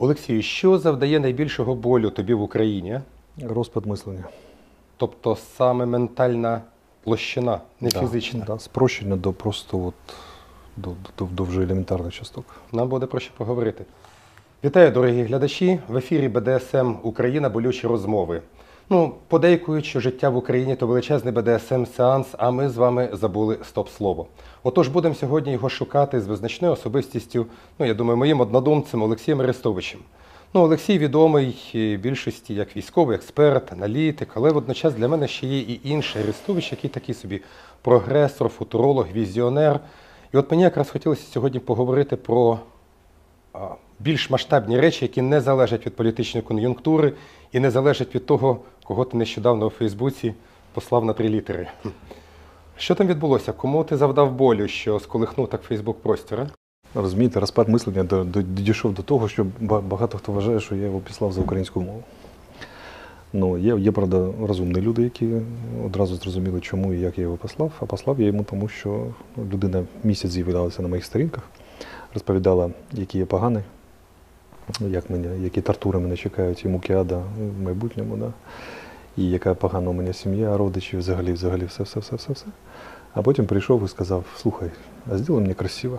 Олексію, що завдає найбільшого болю тобі в Україні? Розпад мислення. Тобто саме ментальна площина, не фізична. Да, спрощення до просто до вже елементарних часток. Нам буде про що поговорити. Вітаю, дорогі глядачі! В ефірі БДСМ Україна. Болючі розмови. Подейкують, що життя в Україні – то величезний БДСМ-сеанс, а ми з вами забули стоп-слово. Отож, будемо сьогодні його шукати з визначною особистістю, я думаю, моїм однодумцем Олексієм Арестовичем. Олексій відомий більшості як військовий експерт, аналітик, але водночас для мене ще є і інший Арестович, який такий собі прогресор, футуролог, візіонер. І от мені якраз хотілося сьогодні поговорити про більш масштабні речі, які не залежать від політичної кон'юнктури і не залежать від того, кого ти нещодавно у Фейсбуці послав на 3 літери. Що там відбулося? Кому ти завдав болю, що сколихнув так Фейсбук-простір? Розумієте, розпад мислення дійшов до того, що багато хто вважає, що я його післав за українську мову. Є, правда, розумні люди, які одразу зрозуміли, чому і як я його послав. А послав я йому, тому що людина місяць з'являлася на моїх сторінках, розповідала, який я поганий, які тортури мене чекають, і муки ада в майбутньому, да? І яка погана у мене сім'я, родичі, взагалі, все. А потім прийшов і сказав: слухай, а зроби мені красиво.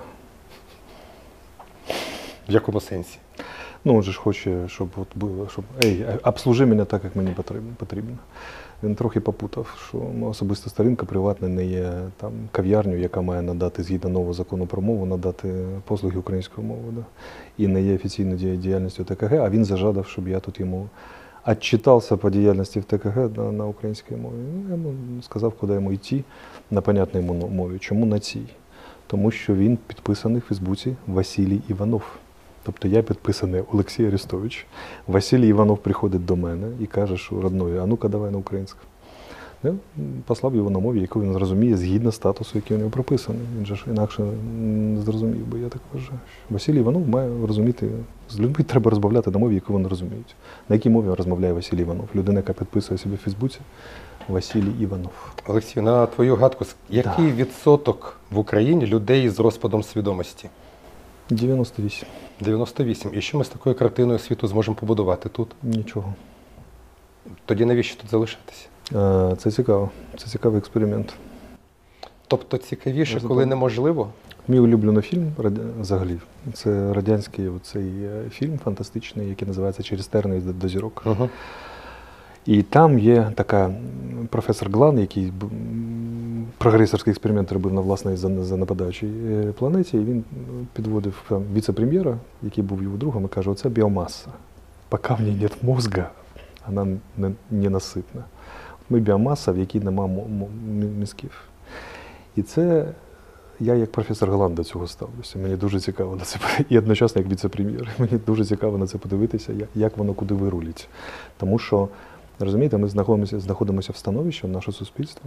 В якому сенсі? Він же ж хоче, щоб обслужи мене так, як мені потрібно. Він трохи попутав, що особиста сторінка приватна не є там кав'ярню, яка має надати, згідно нового закону про мову, надати послуги українською мовою. Да? І не є офіційною діяльністю ТКГ, а він зажадав, щоб я тут йому отчитався по діяльності в ТКГ на українській мові. Я йому сказав, куди йому йти на понятній мові. Чому на цій? Тому що він підписаний в Фейсбуці Василій Іванов. Тобто я підписаний Олексій Арестович. Василій Іванов приходить до мене і каже, що родною, а ну-ка давай на українську. Я послав його на мові, яку він зрозуміє згідно статусу, який у нього прописаний. Він же ж інакше не зрозумів би, я так вважаю. Василій Іванов має розуміти, з людьми треба розмовляти на мові, яку вони розуміють. На якій мові розмовляє Василій Іванов? Людина, яка підписує себе в Фейсбуці, Василій Іванов. Олексій, на твою гадку, який відсоток в Україні людей з розпадом свідомості? 98. 98. І що ми з такою картиною світу зможемо побудувати тут? Нічого. Тоді навіщо тут залишатися? Це цікаво. Це цікавий експеримент. Тобто цікавіше, коли неможливо? Мій улюблений фільм, взагалі, це радянський цей фільм фантастичний, який називається «Через терни до зірок». Угу. І там є така професор Глан, який прогресорський експеримент робив на власній занепадаючій планеті, і він підводив віце-прем'єра, який був його другом, і каже: оце біомаса. Поки в ній немає мозга, вона ненаситна. Ми біомаса, в якій немає мізків. І це я як професор Глан до цього ставлюся. Мені дуже цікаво на це, і одночасно як віце-прем'єр. Мені дуже цікаво на це подивитися, як воно куди вирулить. Тому що, розумієте, ми знаходимося в становищі, наше суспільство,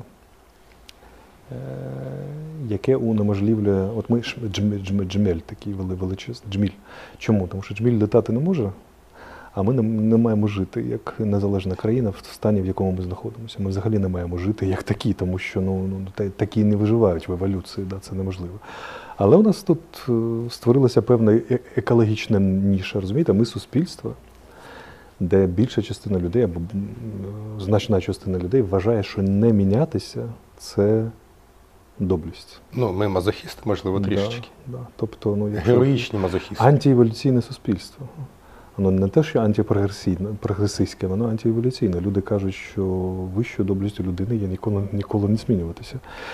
яке унеможливлює, от ми джмель такий величезний, джміль. Чому? Тому що джміль літати не може, а ми не маємо жити як незалежна країна в стані, в якому ми знаходимося. Ми взагалі не маємо жити як такі, тому що такі не виживають в еволюції, це неможливо. Але у нас тут створилася певна екологічна ніша, розумієте? Ми суспільство, де більша частина людей, або значна частина людей вважає, що не мінятися – це доблесть. Ми мазохісти, можливо, трішечки. Да. Тобто, героїчні мазохісти. Антиеволюційне суспільство. Воно не те, що антипрогресистське, воно антиеволюційне. Люди кажуть, що вищою доблестю людини є ніколи не змінюватися.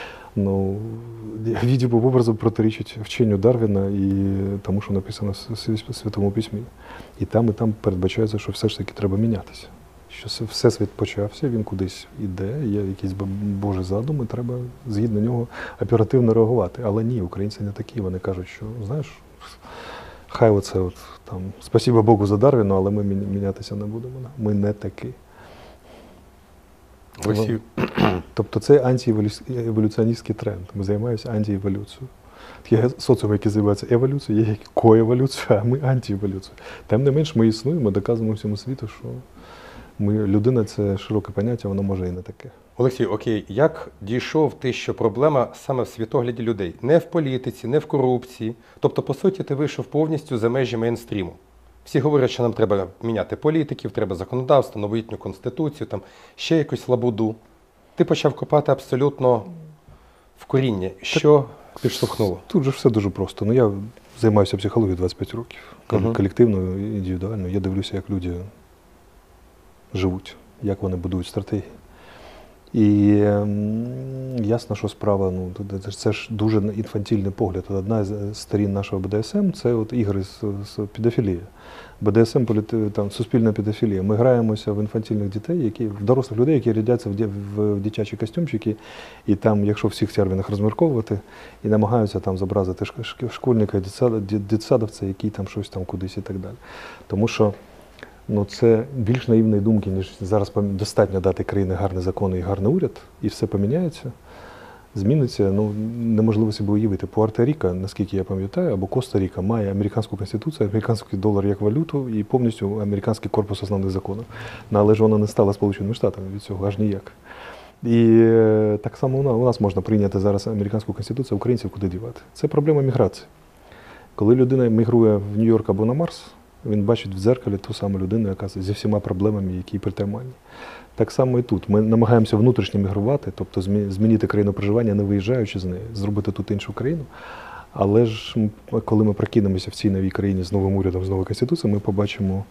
Відібу образом протирічить вченню Дарвіна і тому, що написано в Святому Письмі. І там передбачається, що все ж таки треба мінятися. Що всесвіт почався, він кудись іде, є якийсь Божий задум, і треба згідно нього оперативно реагувати. Але ні, українці не такі. Вони кажуть, що, знаєш, хай оце там, спасибо Богу за Дарвіна, але ми мінятися не будемо. Ми не такі. Тобто це антиеволюціоністський тренд. Ми займаємося антиеволюцією. Є соціум, який займається еволюцією, є коеволюцією, а ми антиеволюцією. Тим не менш, ми існуємо, доказуємо всьому світу, що людина – це широке поняття, воно може і не таке. Олексій, окей, як дійшов ти, що проблема саме в світогляді людей? Не в політиці, не в корупції. Тобто, по суті, ти вийшов повністю за межі мейнстріму. Всі говорять, що нам треба міняти політиків, треба законодавство, новітню конституцію, там ще якусь лабуду. Ти почав копати абсолютно в коріння. Що підштовхнуло? Тут же все дуже просто. Ну, я займаюся психологією 25 років. Колективно, індивідуально. Я дивлюся, як люди живуть, як вони будують стратегії. І ясно, що справа, ну, це ж дуже інфантильний погляд. Одна з сторін нашого БДСМ – це от ігри з педофілією. БДСМ – там, суспільна педофілія. Ми граємося в інфантильних дітей, в дорослих людей, які рядяться в дитячі костюмчики, і там, якщо всіх термінах розмірковувати, і намагаються там зобразити школьника, дитсадовця, який там щось там кудись і так далі. Тому що ну, це більш наївної думки, ніж зараз достатньо дати країні гарні закони і гарний уряд, і все поміняється, зміниться. Ну, неможливо собі уявити. Пуерто-Ріко, наскільки я пам'ятаю, або Коста-Ріка має американську конституцію, американський долар як валюту і повністю американський корпус основних законів. Ну, але ж вона не стала Сполученими Штатами від цього, аж ніяк. І так само у нас можна прийняти зараз американську конституцію, а українців куди дівати. Це проблема міграції. Коли людина мігрує в Нью-Йорк або на Марс, він бачить в дзеркалі ту саму людину, яка зі всіма проблемами, які притаманні. Так само і тут. Ми намагаємося внутрішньо мігрувати, тобто змінити країну проживання, не виїжджаючи з неї, зробити тут іншу країну. Але ж, коли ми прокинемося в цій новій країні з новим урядом, з новою конституцією, ми побачимо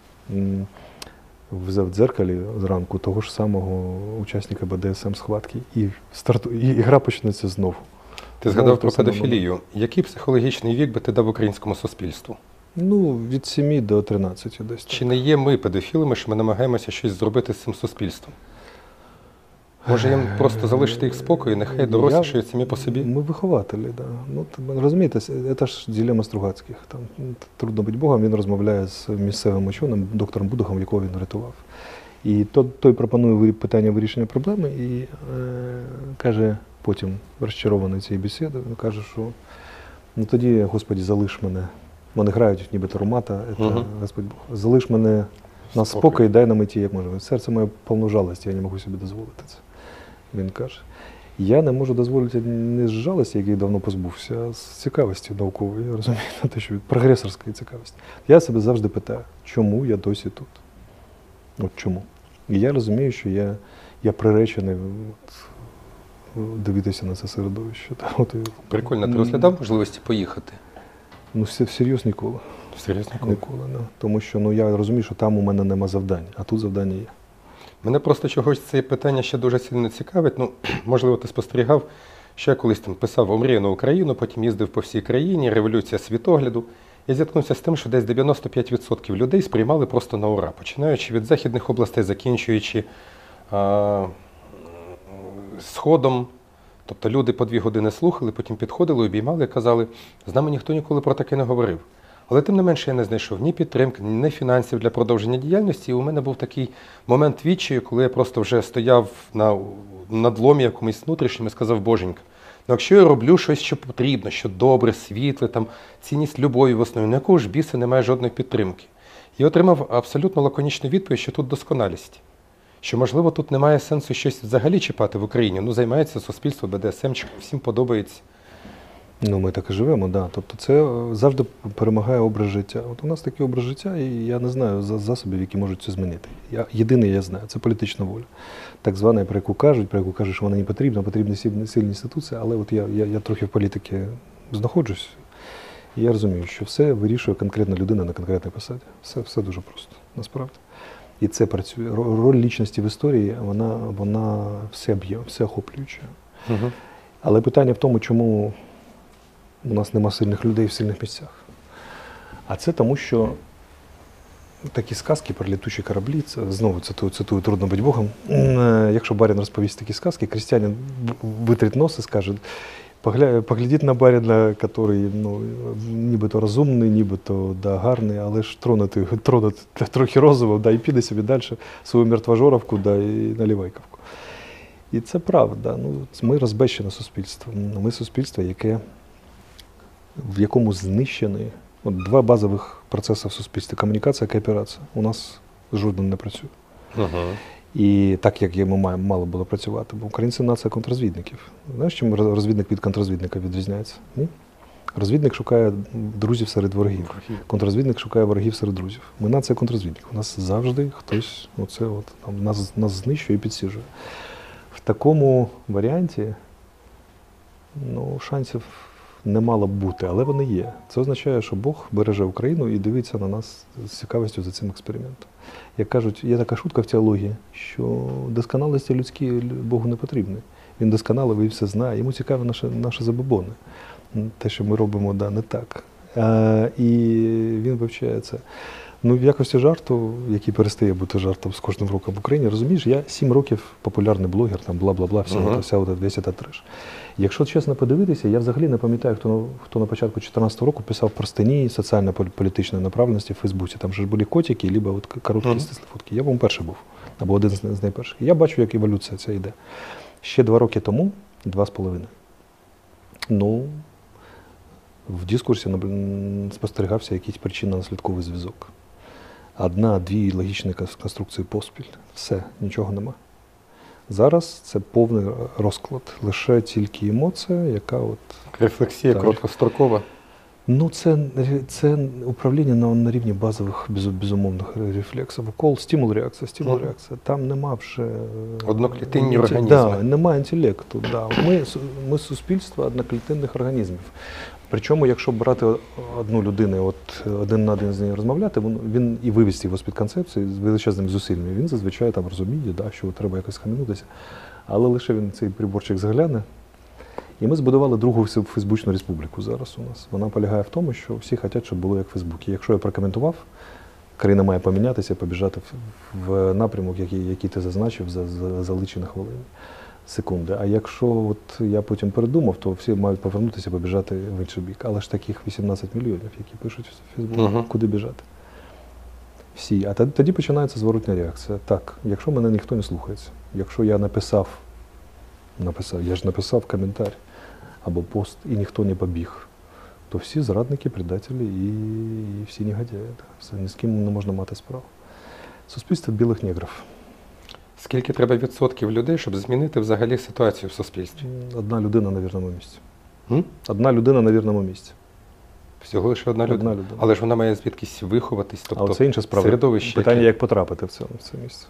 в дзеркалі зранку того ж самого учасника БДСМ схватки. І гра почнеться знову. Ти згадав про педофілію. Який психологічний вік би ти дав українському суспільству? Ну, від 7 до 13 десь. Чи не є ми педофілами, що ми намагаємося щось зробити з цим суспільством? Може їм просто залишити їх спокою, нехай дорослішають самі по собі? Ми вихователі, так. Да. Ну, розумієте, це ж дилема Стругацьких. Там трудно бути Богом, він розмовляє з місцевим ученим, доктором Будухом, якого він врятував. І той пропонує питання вирішення проблеми і каже потім, розчарований цією бесідою, каже, що ну тоді, Господи, залиш мене. Вони грають нібито румата, Господь Бог. Залиш мене на спокій, дай нам іти, як можна. Серце моє повно жалості, я не можу собі дозволити це. Він каже. Я не можу дозволити не з жалості, який давно позбувся, а з цікавості наукової, розумієте, те, що прогресорської цікавості. Я себе завжди питаю, чому я досі тут? От чому? І я розумію, що я приречений дивитися на це середовище. Прикольно. Ти розглядав можливості поїхати? Ну, всерйоз ніколи. Всерйоз ніколи? Ніколи, да. Тому що я розумію, що там у мене нема завдань, а тут завдання є. Мене просто чогось це питання ще дуже сильно цікавить. Ну, можливо, ти спостерігав, що я колись там писав «Омріяну Україну», потім їздив по всій країні, революція світогляду. Я зіткнувся з тим, що десь 95% людей сприймали просто на ура, починаючи від західних областей, закінчуючи Сходом. Тобто люди по 2 години слухали, потім підходили, обіймали і казали, з нами ніхто ніколи про таке не говорив. Але тим не менше я не знайшов ні підтримки, ні фінансів для продовження діяльності. І у мене був такий момент відчаю, коли я просто вже стояв на надломі якомусь внутрішньому і сказав, боженька, ну якщо я роблю щось, що потрібно, що добре, світле, там, цінність любові в основі, на якого ж біса немає жодної підтримки. І отримав абсолютно лаконічну відповідь, що тут досконалість. Що, можливо, тут немає сенсу щось взагалі чіпати в Україні. Ну, займається суспільство, БДСМ, всім подобається. Ну, ми так і живемо, да. Тобто це завжди перемагає образ життя. От у нас такий образ життя, і я не знаю засобів, які можуть це змінити. Єдине, я знаю, це політична воля. Так звана, про яку кажуть, що вона не потрібна, потрібні сильні інституції, але от я трохи в політиці знаходжусь, і я розумію, що все вирішує конкретна людина на конкретній посаді. Все дуже просто, насправді. І це працює. Роль лічності в історії, вона всеохоплююча. Угу. Але питання в тому, чому у нас нема сильних людей в сильних місцях. А це тому, що такі сказки про літучі кораблі, це, знову цитую «Трудно бути Богом». Якщо барин розповість такі сказки, крестьянин витрить нос і скаже, поглядіть на барина, який нібито розумний, нібито гарний, але ж тронути трохи розово, і піде собі далі свою мертвожоровку, і наливайковку. І це правда. Ми розбещене суспільство. Ми суспільство, в якому знищені 2 базових процеси в суспільстві – комунікація і кооперація. У нас жоден не працює. І так, як мало було працювати. Бо українці – нація контррозвідників. Знаєш, чим розвідник від контррозвідника відрізняється? Ні? Розвідник шукає друзів серед ворогів. Контррозвідник шукає ворогів серед друзів. Ми нація контррозвідник. У нас завжди хтось нас знищує і підсіжує. В такому варіанті шансів не мало б бути, але вони є. Це означає, що Бог береже Україну і дивиться на нас з цікавістю за цим експериментом. Як кажуть, є така шутка в теології, що досконалості людські Богу не потрібні. Він досконалий і все знає. Йому цікаві наші забобони. Те, що ми робимо, не так. І він вивчає це. В якості жарту, який перестає бути жартом з кожним роком в Україні, розумієш, я 7 років популярний блогер, там бла-бла-бла, весь цей треш. Якщо чесно подивитися, я взагалі не пам'ятаю, хто на початку 2014 року писав про статті соціально-політичної направленості в Фейсбуці. Там же ж були котики, або короткі стислі фотки. Я, перший був, або один з найперших. Я бачу, як еволюція ця йде. Ще 2 роки тому, 2,5. В дискурсі спостерігався якийсь причинно-наслідковий зв'язок. 1-2 логічні конструкції поспіль. Все, нічого нема. Зараз це повний розклад. Лише тільки емоція, яка Рефлексія короткострокова. Це управління на рівні базових, безумовних рефлексів. Укол, стимул-реакція. Там нема вже... Одноклітинні організми. Немає інтелекту. Ми суспільство одноклітинних організмів. Причому, якщо брати одну людину, один на один з нею розмовляти, він і вивести його з-під концепції з величезними зусиллями, він зазвичай там розуміє, що треба якось схаменутися. Але лише він цей приборчик загляне. І ми збудували другу Фейсбучну республіку зараз у нас. Вона полягає в тому, що всі хочуть, щоб було як в Фейсбуці. Якщо я прокоментував, країна має помінятися, побіжати в напрямок, який ти зазначив за лічені хвилини. Секунди. А якщо я потім передумав, то всі мають повернутися, побіжати в інший бік. Але ж таких 18 мільйонів, які пишуть в Фейсбуці, куди біжати? Всі. А тоді починається зворотня реакція. Так, якщо мене ніхто не слухається, якщо я написав коментар або пост, і ніхто не побіг, то всі зрадники, предателі і всі негодяї. Все, ні з ким не можна мати справу. Суспільство білих негрів. Скільки треба відсотків людей, щоб змінити взагалі ситуацію в суспільстві? 1 людина на вірному місці. 1 людина на вірному місці. Всього лише одна людина? Але ж вона має звідкись виховатись, тобто це інша справа. Середовище. Питання, як потрапити в це місце.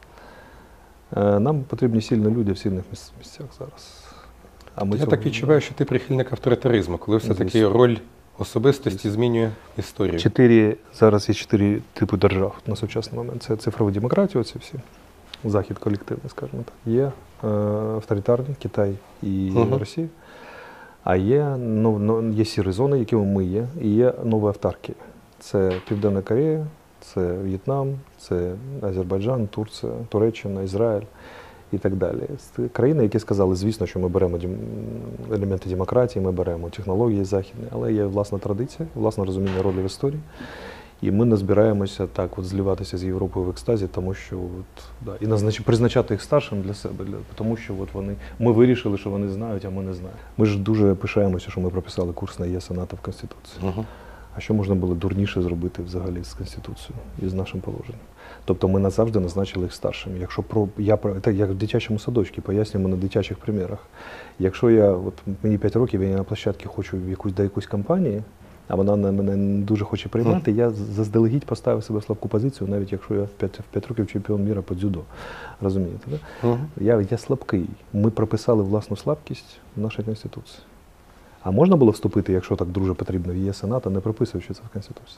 Нам потрібні сильні люди в сильних місцях зараз. Я так відчуваю, що ти прихильник авторитаризму, коли все-таки роль особистості змінює історію. Зараз є 4 типи держав на сучасний момент. Це цифрова демократія, оці всі. Захід колективний, скажімо так. Є авторитарні, Китай і Росія. А є сірі зони, якими ми є, і є нові автарки. Це Південна Корея, це В'єтнам, це Азербайджан, Турція, Туреччина, Ізраїль і так далі. Країни, які сказали, звісно, що ми беремо елементи демократії, ми беремо технології західні, але є власна традиція, власне розуміння ролі в історії. І ми не збираємося так зливатися з Європою в екстазі, тому що і призначати їх старшим для себе, тому що ми вирішили, що вони знають, а ми не знаємо. Ми ж дуже пишаємося, що ми прописали курс на ЄС і НАТО в Конституції. А що можна було дурніше зробити взагалі з Конституцією і з нашим положенням? Тобто ми назавжди назначили їх старшими. Якщо як в дитячому садочку, пояснюємо на дитячих примірах. Якщо мені 5 років, я на площадці хочу до якоїсь компанії, а вона мене не дуже хоче приймати, я заздалегідь поставив себе в слабку позицію, навіть якщо я в 5 років чемпіон міра по дзюдо. Розумієте, так? Я слабкий. Ми прописали власну слабкість в нашій Конституції. А можна було вступити, якщо так дуже потрібно, в ЄС і НАТО, не прописуючи це в Конституції?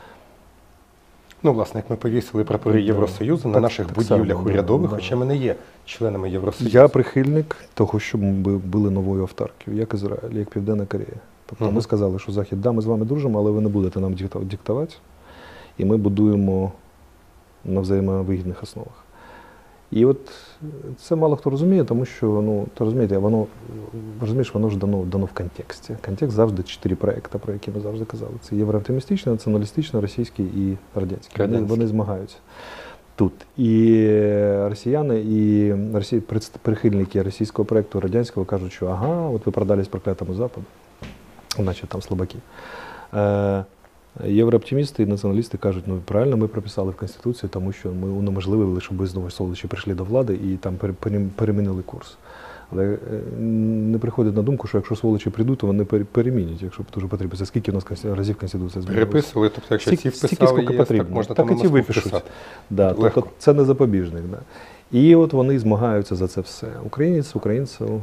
Власне, як ми повісили прапори Євросоюзу на наших будівлях урядових, хоча ми не є членами Євросоюзу. Я прихильник того, щоб ми були новою автаркою, як Ізраїль, як Південна Корея. Тобто ми сказали, що Захід, ми з вами дружимо, але ви не будете нам диктувати, і ми будуємо на взаємовигідних основах. І це мало хто розуміє, тому що, воно ж дано в контексті. Контекст завжди 4 проекти, про які ми завжди казали. Це єврооптимістичний, націоналістичний, російський і радянський. Вони змагаються тут. І росіяни, і прихильники російського проекту, радянського кажуть, що ви продались проклятому Западу, наче там слабаки. Єврооптимісти і націоналісти кажуть, правильно ми прописали в Конституції, тому що ми унеможливили, щоб знову солодичі прийшли до влади і там перемінили курс. Але не приходить на думку, що якщо сволочі прийдуть, то вони перемінять, якщо дуже потрібно. Це скільки у нас разів Конституція змінилася? Переписували, тобто якщо ці Стільки, вписали скільки ЄС, потрібно. так можна Так там і ті випишуть. вписати. Да, тобто це не запобіжник. Да. І от вони змагаються за це все. Українець, українцю,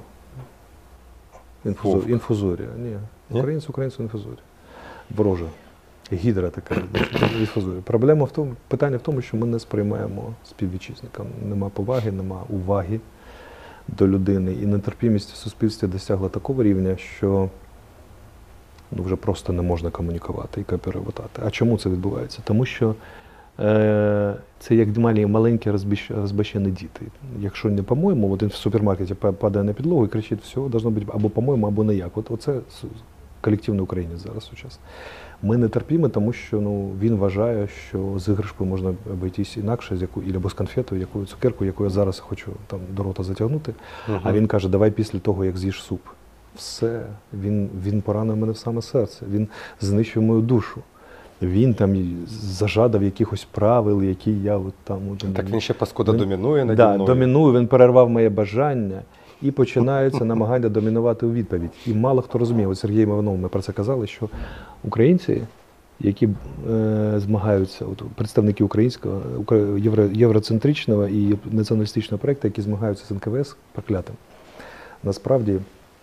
інфузорія. Ні, українець, інфузорія. Ворожа. Гідра така інфузорія. Питання в тому, що ми не сприймаємо співвітчизникам. Нема поваги, нема уваги до людини. І нетерпімість в суспільстві досягла такого рівня, що вже просто не можна комунікувати і кооперувати. А чому це відбувається? Тому що це як маленькі розбещені діти. Якщо не по-моєму, один в супермаркеті падає на підлогу і кричить, все, должно бути або по-моєму, або не як. Оце колективний українець зараз сучасний. Ми не терпімо, тому що він вважає, що з іграшкою можна обійтись інакше, або з конфетою, якою цукеркою, яку я зараз хочу там до рота затягнути. А він каже, давай після того, як з'їш суп. Все, він поранив мене в саме серце, він знищив мою душу. Він там зажадав якихось правил, які я от там... Так він ще паскуда домінує наді мною. мною. Домінує, він перервав моє бажання і починається намагання домінувати у відповідь. І мало хто розуміє, от Сергій Іванов, ми про це казали, що українці, які змагаються, от представники українського, євроцентричного і націоналістичного проєкту, які змагаються з НКВС проклятим, насправді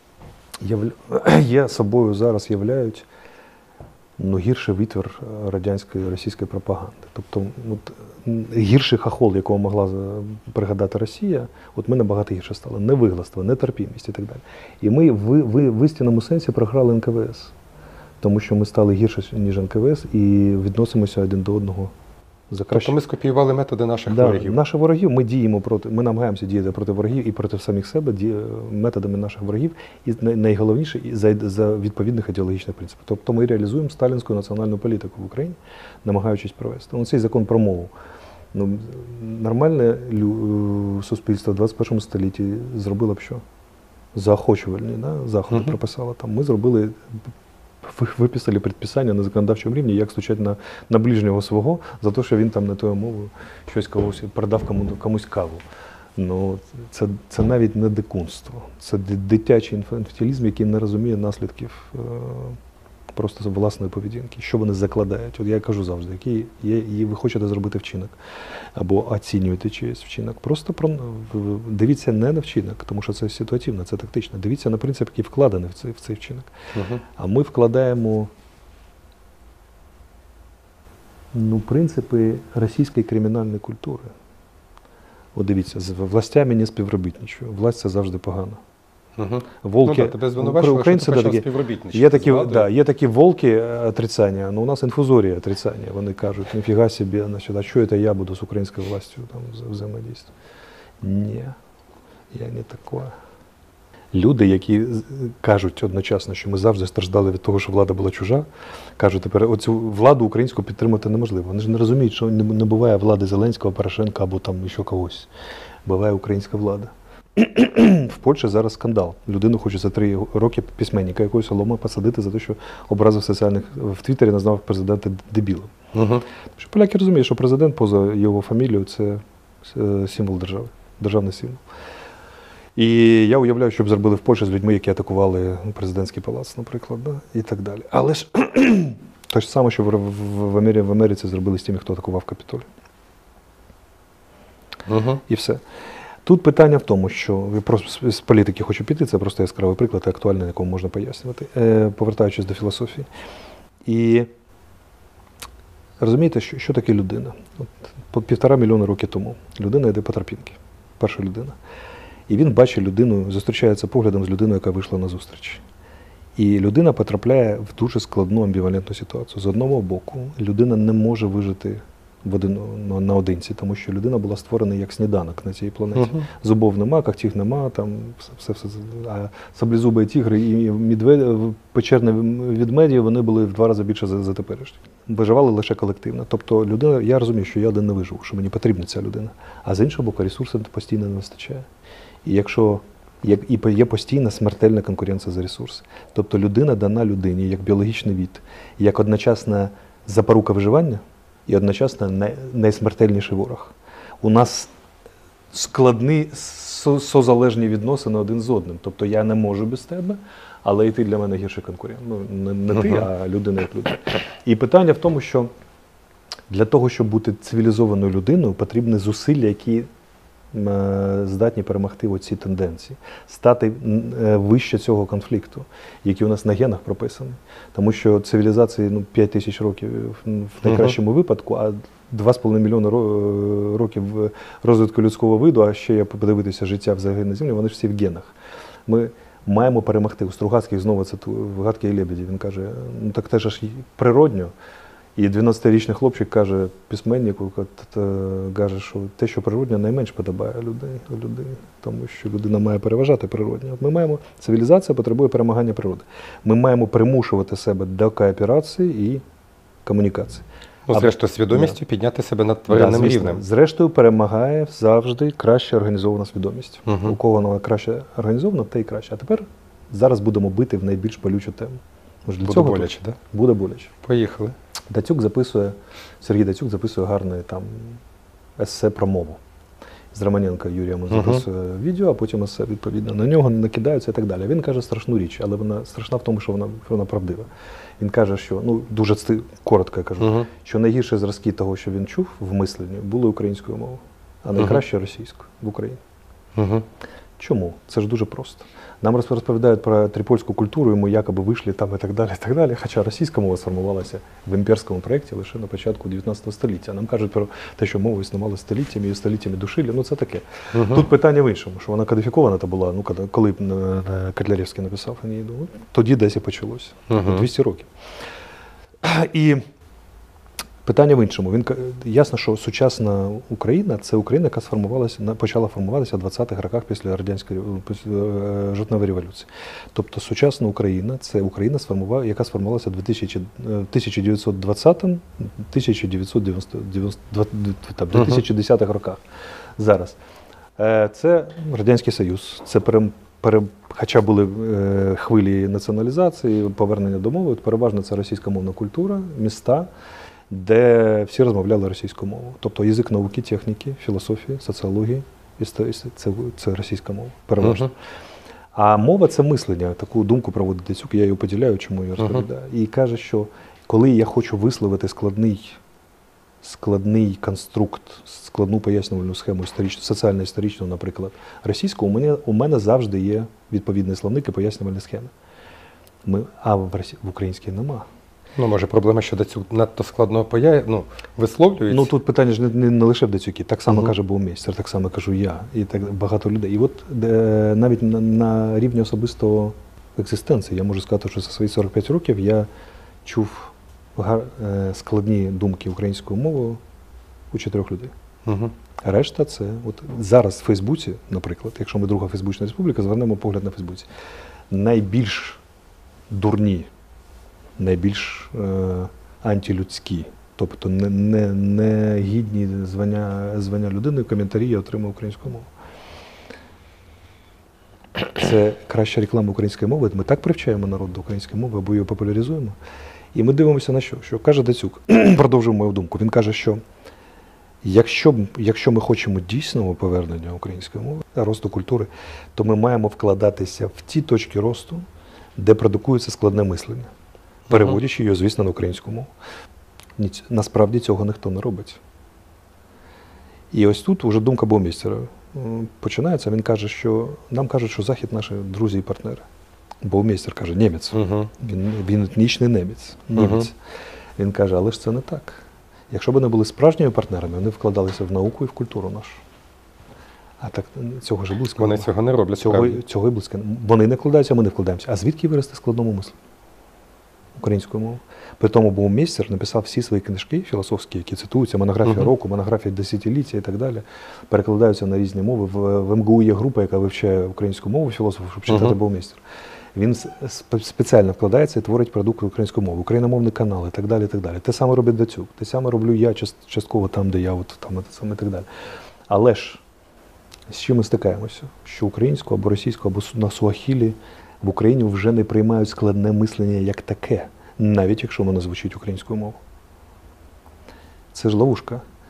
є собою зараз являють гірший витвір радянської, російської пропаганди. Тобто гірший хахол, якого могла пригадати Росія, от ми набагато гірше стали. Невигластво, нетерпімість і так далі. І ми в істинному сенсі програли НКВС. Тому що ми стали гірше, ніж НКВС, і відносимося один до одного за краще. Тобто ми скопіювали методи наших ворогів. Наших ворогів ми намагаємося діяти проти ворогів і проти самих себе методами наших ворогів, і найголовніше за відповідних ідеологічних принципів. Тобто ми реалізуємо сталінську національну політику в Україні, намагаючись провести. Цей закон про мову. Нормальне суспільство в 21 столітті зробило б що? Заохочувальні заходи прописало там. Ми зробили... Виписали предписання на законодавчому рівні, як стучать на ближнього свого за те, що він там не тою мовою щось продав комусь каву. Це навіть не дикунство. Це дитячий інфантилізм, який не розуміє наслідків просто власної поведінки. Що вони закладають? От я кажу завжди, який ви хочете зробити вчинок або оцінюєте чийсь вчинок. Просто дивіться не на вчинок, тому що це ситуативно, це тактично. Дивіться на принцип, який вкладений в цей вчинок. А ми вкладаємо принципи російської кримінальної культури. От дивіться, з властями не співробітничаю. Власть – це завжди погано. Волки, тебе звинувачували, що ти почав співробітничати. Є такі волки отрицання, але у нас інфузорія отрицання. Вони кажуть, ніфіга собі, а що це я буду з українською властю взаємодійствувати? Ні, я не такое. Люди, які кажуть одночасно, що ми завжди страждали від того, що влада була чужа, кажуть, тепер оцю владу українську підтримати неможливо. Вони ж не розуміють, що не буває влади Зеленського, Порошенка або там ще когось. Буває українська влада. В Польщі зараз скандал. Людину хочуть за 3 роки письменника якогось Лома посадити за те, що образив в Твіттері назвав президента дебілом. Тому що поляки розуміють, що президент поза його фамілією – це символ держави, державний символ. І я уявляю, що б зробили в Польщі з людьми, які атакували президентський палац, наприклад, і так далі. Але ж те ж саме, що в Америці зробили з тими, хто атакував Капітолій. І все. Тут питання в тому, що я просто з політики хочу піти, це просто яскравий приклад, актуальний, якому можна пояснювати, повертаючись до філософії. І розумієте, що таке людина? От 1,5 мільйона років тому людина йде по тропінки, перша людина. І він бачить людину, зустрічається поглядом з людиною, яка вийшла на зустріч. І людина потрапляє в дуже складну амбівалентну ситуацію. З одного боку, людина не може вижити наодинці, тому що людина була створена як сніданок на цій планеті. Зубов нема, когтів нема, там все. А саблезубі тігри і печерні ведмеді, вони були в 2 рази більше за теперішні. Виживали лише колективно. Тобто людина, я розумію, що я один не виживу, що мені потрібна ця людина. А з іншого боку, ресурсів постійно не вистачає. І якщо є постійна смертельна конкуренція за ресурси. Тобто людина дана людині як біологічний від, як одночасна запорука виживання і одночасно найсмертельніший ворог. У нас созалежні відносини один з одним. Тобто я не можу без тебе, але і ти для мене гірший конкурент. Ну, не ти, а людина як людина. І питання в тому, що для того, щоб бути цивілізованою людиною, потрібні зусилля, які здатні перемогти оці тенденції, стати вище цього конфлікту, який у нас на генах прописаний. Тому що цивілізації 5 тисяч років в найкращому випадку, а 2,5 мільйони років розвитку людського виду, а ще я подивитися життя взагалі на Землі, вони ж всі в генах. Ми маємо перемогти. У Стругацьких знову це в «Гадкій лебеді». Він каже, ну так це ж природньо. І 12-річний хлопчик каже письменнику, каже, що те, що природньо, найменш подобає людині, тому що людина має переважати природньо. Цивілізація потребує перемагання природи. Ми маємо примушувати себе до кооперації і комунікації. Ну, зрештою, свідомістю підняти себе над тваринним рівнем. Зрештою, перемагає завжди краще організована свідомість. У кого вона краще організована, те й краще. А тепер зараз будемо бити в найбільш болючу тему. Буде боляче, так? Буде боляче. Поїхали. Сергій Дацюк записує гарне там есе про мову. З Романенка Юрієм записує відео, а потім есе відповідно на нього накидаються і так далі. Він каже страшну річ, але вона страшна в тому, що вона правдива. Він каже, що, дуже коротко я кажу, що найгірші зразки того, що він чув в мисленні, були українською мовою, а найкраще російською в Україні. Чому? Це ж дуже просто. Нам розповідають про трипольську культуру, і ми якоби вийшли там і так далі, хоча російська мова сформувалася в імперському проєкті лише на початку 19 століття. Нам кажуть про те, що мова існувала століттями і століттями душили, це таке. Тут питання в іншому, що вона кодифікована була, коли Котляревський написав Енеїду, тоді десь і почалося, 200 років. І питання в іншому. Ясно, що сучасна Україна – це Україна, яка почала формуватися в 20-х роках після жовтневої революції. Тобто сучасна Україна – це Україна, яка сформувалася в 1920-1910-х роках. Зараз. Це Радянський Союз, це хоча були хвилі націоналізації, повернення до мови, переважно це російськомовна культура, міста, де всі розмовляли російською мовою. Тобто язик науки, техніки, філософії, соціології, це російська мова, переважно. А мова – це мислення. Таку думку проводить Дацюк, я її поділяю, чому я розповідаю. І каже, що коли я хочу висловити складний конструкт, складну пояснювальну схему соціально-історичну, наприклад, російську, у мене завжди є відповідний словник і пояснювальні схеми. А в українській нема. Може, проблема, що Дацюк надто складно висловлюється? Тут питання ж не лише в Дацюкі. Так само каже Баумейстер, так само кажу я, і так багато людей. І от навіть на рівні особистого екзистенції, я можу сказати, що за свої 45 років я чув складні думки українською мовою у 4 людей. Решта це, зараз в Фейсбуці, наприклад, якщо ми друга Фейсбучна республіка, звернемо погляд на Фейсбуці. Найбільш дурні, найбільш антилюдські, тобто не гідні звання людини, коментарі я отримав українською мовою. Це краща реклама української мови. Ми так привчаємо народ до української мови, або її популяризуємо. І ми дивимося на що каже Дацюк, продовжуємо мою думку, він каже, що якщо ми хочемо дійсного повернення української мови, росту культури, то ми маємо вкладатися в ті точки росту, де продукується складне мислення, переводячи його, звісно, на українську мову. Насправді цього ніхто не робить. І ось тут вже думка Баумейстера починається. Він каже, що нам кажуть, що Захід наші друзі і партнери. Баумейстер каже, німець. Він етнічний німець. Він каже, але ж це не так. Якщо б вони були справжніми партнерами, вони вкладалися в науку і в культуру нашу. А так цього ж близько. Вони цього не роблять. Цього і близько. Вони не вкладаються, а ми не вкладаємося. А звідки вирости складному мислу? Українською мовою. При тому Баумейстер написав всі свої книжки філософські, які цитуються, монографія року, монографія десятиліття і так далі, перекладаються на різні мови. В МГУ є група, яка вивчає українську мову філософів, щоб читати Баумейстера. Він спеціально вкладається і творить продукт української мови, україномовний канал і так далі, і так далі. Те саме робить Дацюк, те саме роблю я частково там, де я, і так далі. Але ж, з чим ми стикаємося? Що українську або російську, або на суахілі в Україні вже не приймають складне мислення як таке, навіть якщо воно звучить українською мовою. Це ж ловушка.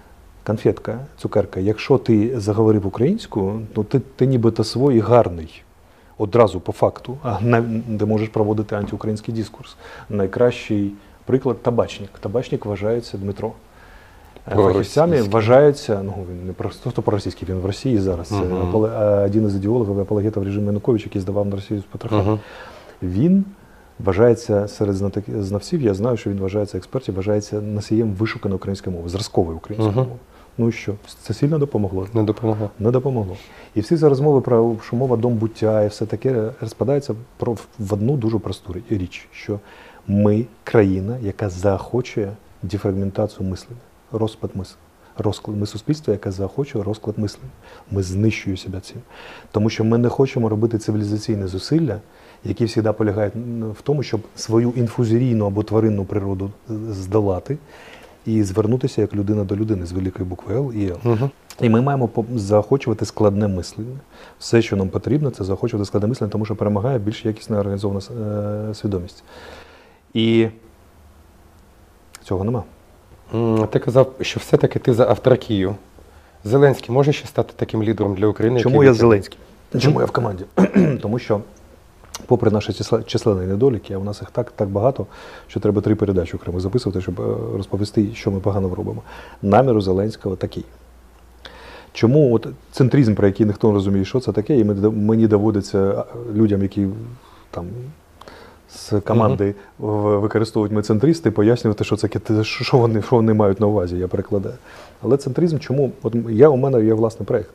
конфетка, цукерка. Якщо ти заговорив українською, то ти нібито свій і гарний. Одразу по факту, де можеш проводити антиукраїнський дискурс. Найкращий приклад – табачник. Табачник вважається Дмитро. Фахівцями вважається, ну він не просто проросійський, він в Росії зараз. Це один із ідеологів апологетів режиму Януковича, який здавав на Росію з Петроха. Він вважається серед знавців, я знаю, що він вважається експертів, вважається носієм вишуканої української мови, зразкової української мови. Ну і що? Це сильно допомогло? Не допомогло. Не допомогло. І всі ці розмови про що мова дом буття і все таке розпадаються в одну дуже просту річ, що ми країна, яка заохочує дефрагментацію мислення, розпад мислення. Ми суспільство, яке заохочує розклад мислення. Ми знищуємо себе цим. Тому що ми не хочемо робити цивілізаційне зусилля, які завжди полягають в тому, щоб свою інфузорійну або тваринну природу здолати і звернутися як людина до людини з великої букви Л і Л. І ми маємо заохочувати складне мислення. Все, що нам потрібно, це заохочувати складне мислення, тому що перемагає більш якісна організована свідомість. І цього нема. Ти казав, що все-таки ти за автаркію. Зеленський може ще стати таким лідером для України? Чому я Зеленський? Чому я в команді? Тому що, попри наші численні недоліки, а у нас їх так багато, що треба 3 передачі окремо записувати, щоб розповісти, що ми погано робимо. Намір у Зеленського такий. Чому от центризм, про який ніхто не розуміє, що це таке, і мені доводиться людям, які там з команди використовують мецентристи, пояснювати, що це, що вони мають на увазі, я перекладаю. Але центризм чому? От у мене є власний проєкт.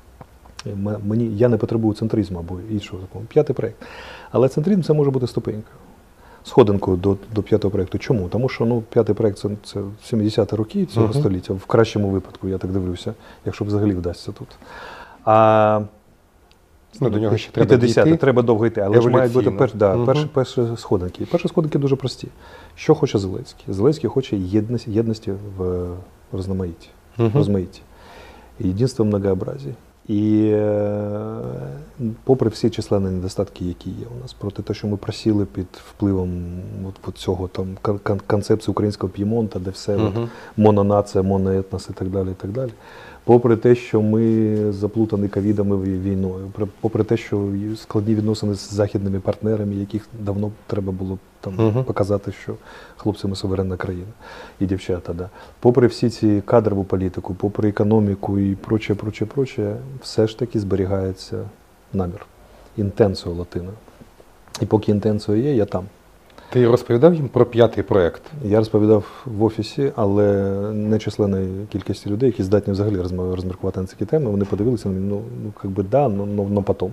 Я не потребую центризму або іншого такого. 5-й проєкт. Але центризм це може бути ступенька. Сходинкою до 5-го проєкту. Чому? Тому що 5-й проєкт це 70-ті роки цього століття, в кращому випадку, я так дивлюся, якщо взагалі вдасться тут. До нього ще треба дійти. Треба довго йти, але ж мають бути перші сходинки. Перші сходинки дуже прості. Що хоче Зеленський? Зеленський хоче єдності в розмаїтті. Єдинство в многообразі. І попри всі численні недостатки, які є у нас, проти те, що ми просіли під впливом цього концепції українського П'ємонта, де все мононація, моноетнос і так далі. Попри те, що ми заплутані ковідом і війною, попри те, що складні відносини з західними партнерами, яких давно треба було показати, що хлопці, ми суверенна країна і дівчата. Да. Попри всі ці кадрову політику, попри економіку і проче, все ж таки зберігається намір, інтенціо латина. І поки інтенціо є, я там. Ти розповідав їм про 5-й проєкт? Я розповідав в офісі, але не численної кількості людей, які здатні взагалі розміркувати на ці теми. Вони подивилися на мене, но потом.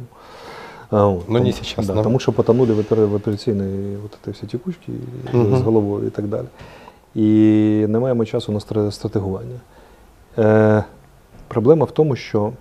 Не сейчас. Да, тому що потонули в операційній всі текучки з головою і так далі. І не маємо часу на стратегування. Проблема в тому, що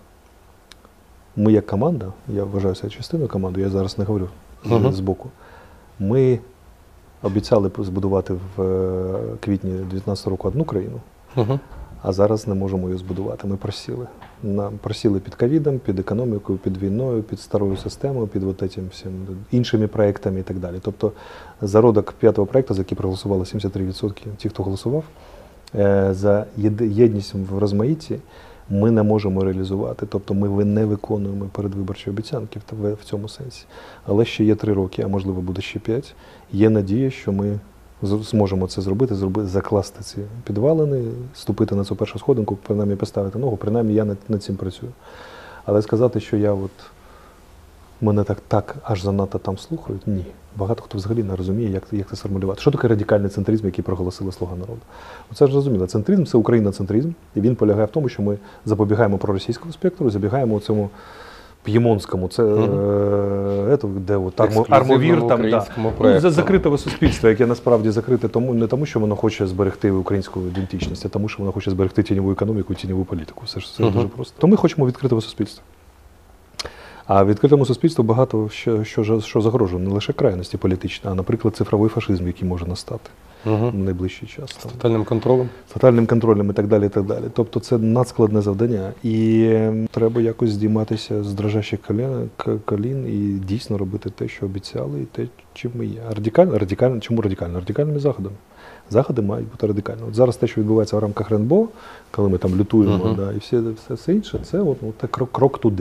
ми як команда, я вважаю себе частиною команди, я зараз не говорю збоку, ми обіцяли збудувати в квітні 2019 року одну країну, а зараз не можемо її збудувати. Ми просіли. Просіли під ковідом, під економікою, під війною, під старою системою, під всім іншими проєктами і так далі. Тобто зародок 5-го проєкту, за який проголосували 73% ті, хто голосував, за єдність в розмаїтті, ми не можемо реалізувати. Тобто ми не виконуємо передвиборчі обіцянки в цьому сенсі. Але ще є 3 роки, а можливо буде ще 5. Є надія, що ми зможемо це зробити, закласти ці підвалини, ступити на цю першу сходинку, принаймні поставити ногу, принаймні я над цим працюю. Але сказати, що мене так аж занадто там слухають, ні. Багато хто взагалі не розуміє, як це сформулювати. Що таке радикальний центризм, який проголосила «Слуга народу»? Це ж зрозуміло. Центризм – це україноцентризм, і він полягає в тому, що ми запобігаємо проросійському спектру, забігаємо у цьому п'ємонському, де армовір, закритого суспільства, яке насправді закрите не тому, що воно хоче зберегти українську ідентичність, а тому, що воно хоче зберегти тіньову економіку і тіньову політику. Все дуже просто. То ми хочемо відкритого суспільства. А відкритому суспільству багато що загрожує, не лише крайності політичні, а, наприклад, цифровий фашизм, який може настати в найближчий час. З тотальним контролем? З тотальним контролем і так далі, і так далі. Тобто це надскладне завдання. І треба якось здійматися з дрожащих колін і дійсно робити те, що обіцяли, і те, чим ми є. Чому радикально? Радикальними заходами. Заходи мають бути радикальні. От зараз те, що відбувається в рамках РНБО, коли ми там лютуємо, да, і все інше, це от крок туди.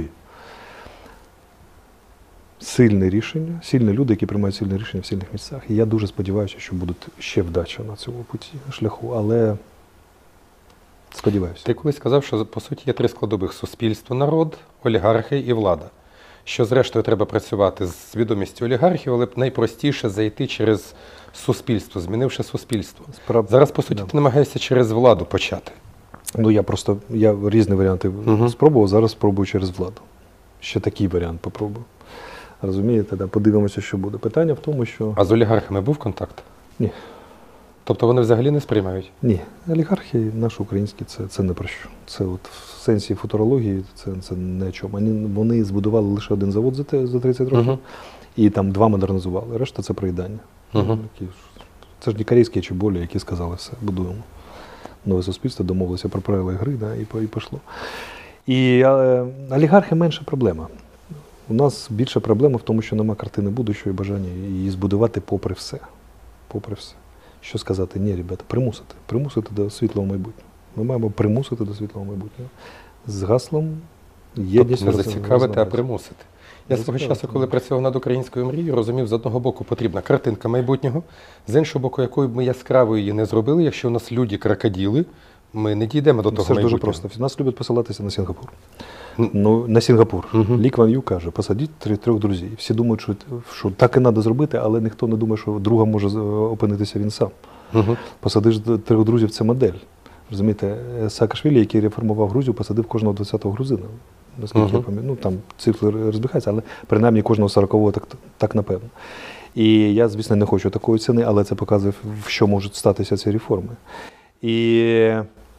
Сильне рішення, сильні люди, які приймають сильні рішення в сильних місцях. І я дуже сподіваюся, що буде ще вдача на цьому шляху, але сподіваюся. Ти колись сказав, що по суті є три складових: суспільство, народ, олігархи і влада. Що зрештою треба працювати з свідомістю олігархів, але найпростіше зайти через суспільство, змінивши суспільство. Зараз, по суті, ти намагаєшся через владу почати. Ну, я різні варіанти спробував, зараз спробую через владу. Ще такий варіант попробую. Розумієте, да? Подивимося, що буде. Питання в тому, що... А з олігархами був контакт? Ні. Тобто вони взагалі не сприймають? Ні. Олігархи наші українські це не про що. Це от в сенсі футурології це не о чому. Вони збудували лише один завод за 30 років і там 2 модернізували. Решта це проїдання. Це ж не корейські чеболі, які сказали все, будуємо. Нове суспільство, домовилися про правила гри, да, і пішло. І олігархи менша проблема. У нас більша проблема в тому, що нема картини будущого і бажання її збудувати попри все. Попри все. Що сказати? Ні, ребята, примусити до світлого майбутнього. Ми маємо примусити до світлого майбутнього. З гаслом єдність. Тобто не зацікавити, а примусити. Я свого часу, коли працював над українською мрією, розумів, з одного боку потрібна картинка майбутнього, з іншого боку, якою б ми яскравою її не зробили, якщо у нас люди крокодили, ми не дійдемо до того майбутнього. Це ж дуже просто. Нас люблять посилатися на Сінгапур. Ну, на Сінгапур. Лі Кван Ю каже, посадіть 3 друзів. Всі думають, що так і треба зробити, але ніхто не думає, що друга може опинитися він сам. Посадиш 3 друзів – це модель. Розумієте, Саакашвілі, який реформував Грузію, посадив кожного 20-го грузина. Наскільки я пам'ятаю, ну там цифри розбігаються, але принаймні кожного 40-го так напевно. І я, звісно, не хочу такої ціни, але це показує, в що можуть статися ці реформи. І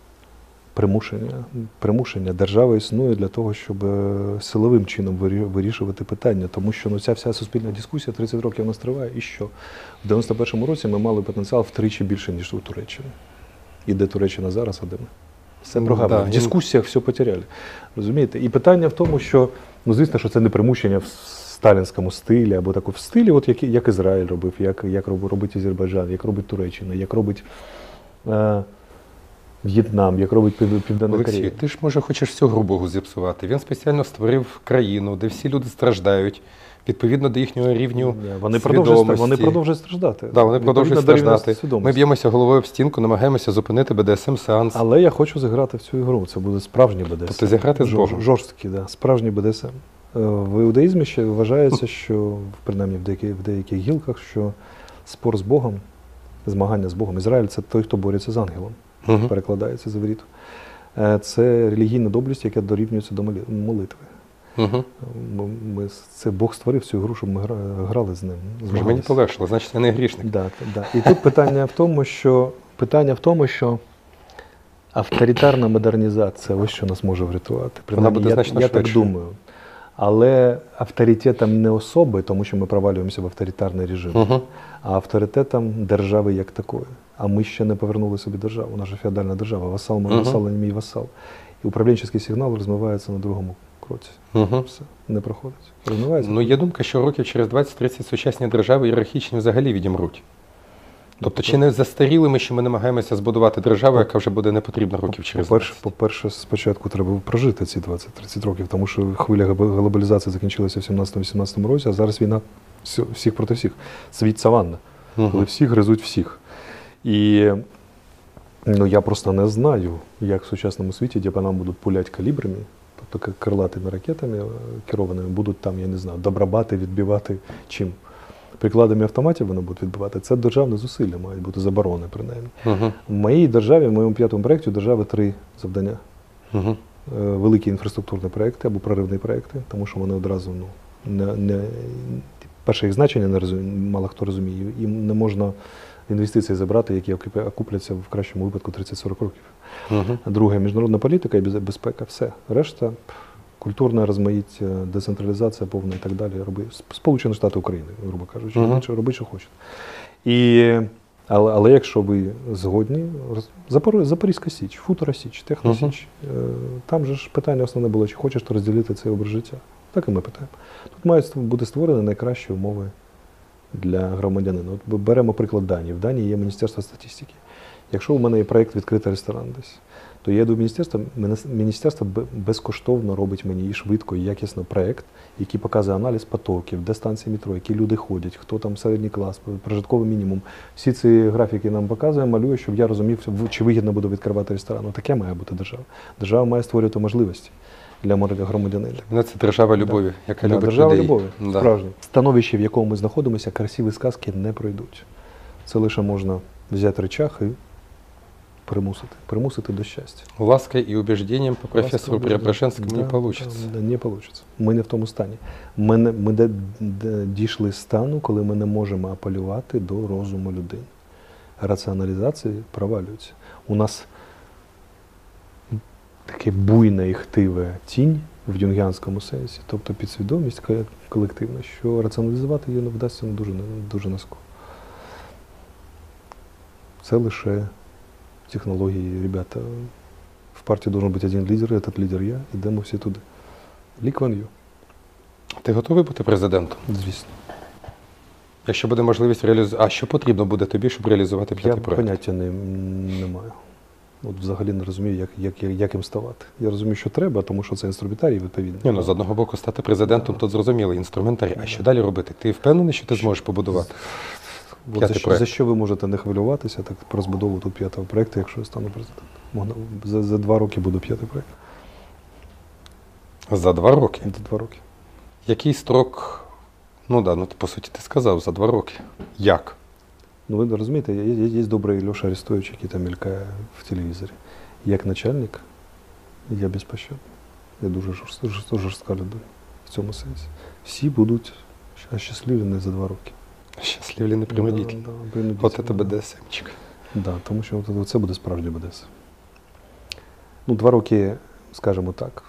примушення. Держава існує для того, щоб силовим чином вирішувати питання, тому що ця вся суспільна дискусія 30 років у нас триває, і що? В 91-му році ми мали потенціал втричі більше, ніж у Туреччині. І де Туреччина зараз, а де ми? Все програма. В дискусіях все потеряли. Розумієте? І питання в тому, що, ну, звісно, що це не примушення в сталінському стилі, або так в стилі, от як Ізраїль робив, як робить Азербайджан, як робить Туреччина, як робить В'єтнам, як робить Південна Корея. Олексій, ти ж, може, хочеш всю гру Богу зіпсувати. Він спеціально створив країну, де всі люди страждають, відповідно до їхнього рівню свідомості. Вони продовжують страждати. Да, вони продовжують страждати. Ми б'ємося головою в стінку, намагаємося зупинити БДСМ-сеанс. Але я хочу зіграти в цю ігру. Це буде справжній БДСМ. Тобто зіграти з Богом. Жорсткий, да. Справжній БДСМ. В іудаїзмі ще вважається, що, принаймні в деяких гілках, що спор з Богом, змагання з Богом. Ізраїль – це той, хто бореться з ангелом. Перекладається з івриту. Це релігійна доблесть, яка дорівнюється до молитви. Це Бог створив цю гру, щоб ми грали з ним. Мені полегшило, значить я не грішник. Да. І тут питання в тому, що авторитарна модернізація, ось що нас може врятувати. Вона буде значно я так думаю. Але авторитетом не особи, тому що ми провалюємося в авторитарний режим, а авторитетом держави як такої. А ми ще не повернули собі державу. У нас же феодальна держава. Васал мій васал, а не мій васал. І управлінчий сигнал розмивається на другому кроці. Все, не проходить. Розмивається. Ну, є думка, що років через 20-30 сучасні держави ієрархічні взагалі відімруть. Тобто, чи не застаріли ми, що ми намагаємося збудувати державу, яка вже буде не потрібна років через 20? По-перше, спочатку треба прожити ці 20-30 років, тому що хвиля глобалізації закінчилася в 17-18 році, а зараз війна всіх проти всіх. Світ саванна, коли всі гризуть всіх. І я просто не знаю, як в сучасному світі, де по нам будуть пуляти калібрами, тобто крилатими ракетами керованими, будуть там, я не знаю, добробати, відбивати чим. Прикладами автоматів вони будуть відбивати. Це державне зусилля, мають бути заборони, принаймні. В моїй державі, в моєму 5-му проєкті, у держави 3 завдання. Великі інфраструктурні проєкти або проривні проєкти, тому що вони одразу, перше їх значення мало хто розуміє, їм не можна інвестиції забрати, які окупляться в кращому випадку 30-40 років. Друге, міжнародна політика і безпека, все. Решта культурне розмаїття, децентралізація повна і так далі. Сполучені Штати України, грубо кажучи, робіть, що хочете. Але якщо ви згодні, Запорізька Січ, Футура Січ, Техно Січ, там же ж питання основне було, чи хочеш ти розділити цей образ життя. Так і ми питаємо. Тут мають бути створені найкращі умови для громадянина. От беремо приклад Данії. В Данії є Міністерство статистики. Якщо у мене є проєкт відкрити ресторан десь, то я йду в міністерство, міністерство безкоштовно робить мені і швидко, і якісно проєкт, який показує аналіз потоків, де станції метро, які люди ходять, хто там середній клас, прожитковий мінімум. Всі ці графіки нам показує, малює, щоб я розумів, чи вигідно буде відкривати ресторан. Ну, таке має бути держава. Держава має створювати можливості для громадянина. Мене це держава любові, яка любить держава людей. любові, Да. справжнє. Становище, в якому ми знаходимося, красиві сказки не пройдуть. Це лише можна взяти речах і примусити до щастя. Лаской и убеждением по профессору Преображенскому не получится. Да, не получится. Ми не в тому стані. Ми дійшли стану, коли ми не можемо апелювати до розуму людини. Раціоналізація провалюється. У нас таке буйне і хтиве тінь в юнгіанському сенсі, тобто підсвідомість колективна, що раціоналізувати її не вдасться дуже низько. Це лише технології, ребята. В партії должен бути один лідер, этот лідер я, ідемо всі туди. Лі Кван Ю. Ти готовий бути президентом? Звісно. Якщо буде можливість реалізувати. А що потрібно буде тобі, щоб реалізувати Я п'ятий проєкт? поняття не маю. От взагалі не розумію, як їм ставати. Я розумію, що треба, тому що це інструментарій відповідний. Ні, ну, з одного боку, стати президентом, тут зрозумілий інструментарій. А що далі робити? Ти впевнений, що ти зможеш побудувати? За що ви можете не хвилюватися, так про розбудову тут п'ятого проєкту, якщо я стану президентом. За 2 роки буду п'ятий проєкт. За 2 роки? За 2 роки. Який строк? Ну да, по суті, ти сказав, за 2 роки. Як? Ну, ви розумієте, є добрий Льоша Арестович, який там мелькає в телевізорі. Як начальник, я безпощадний. Я дуже жорстка людина в цьому сенсі. Всі будуть щасливі за 2 роки. Щасливі не принудительно. От це БДСМчик. Да, тому що це буде справжній БДСМ. Ну, 2 роки, скажімо так,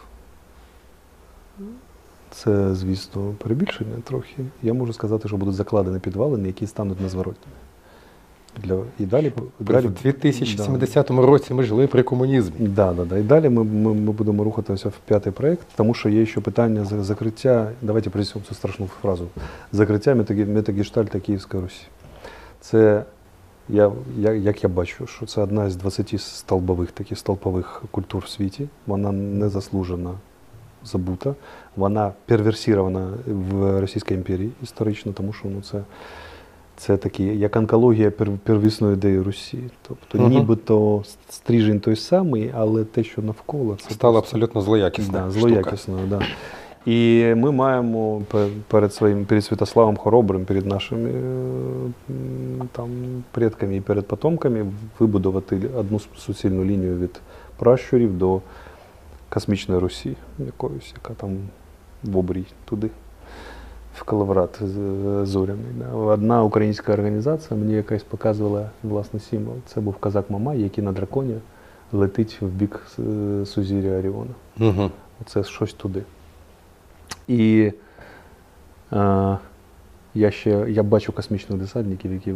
це, звісно, перебільшення трохи. Я можу сказати, що будуть закладені підвалини, які стануть незворотніми. І далі, в 2070 році ми жили при комунізмі. Да. І далі ми будемо рухатися в п'ятий проєкт, тому що є ще питання закриття, давайте принесемо цю страшну фразу, закриття метагештальта Київської Русі. Це, як я бачу, що це одна з 20 столпових культур в світі. Вона незаслужено забута, вона перверсірована в Російській імперії історично, тому що це такі, як онкологія первісної ідеї Русі. Тобто нібито стрижень той самий, але те, що навколо, це стало абсолютно злоякісною. Да, злоякісною, да. І ми маємо перед Святославом Хоробрим, перед нашими там предками і перед потомками вибудувати одну суцільну лінію від пращурів до космічної Русі, якоїсь, яка там в обрій туди. В Калаврат зоряний. Одна українська організація мені якась показувала власний символ. Це був козак Мамай, який на драконі летить в бік сузір'я Оріона. Угу. Це щось туди. І я бачу космічних десантників, які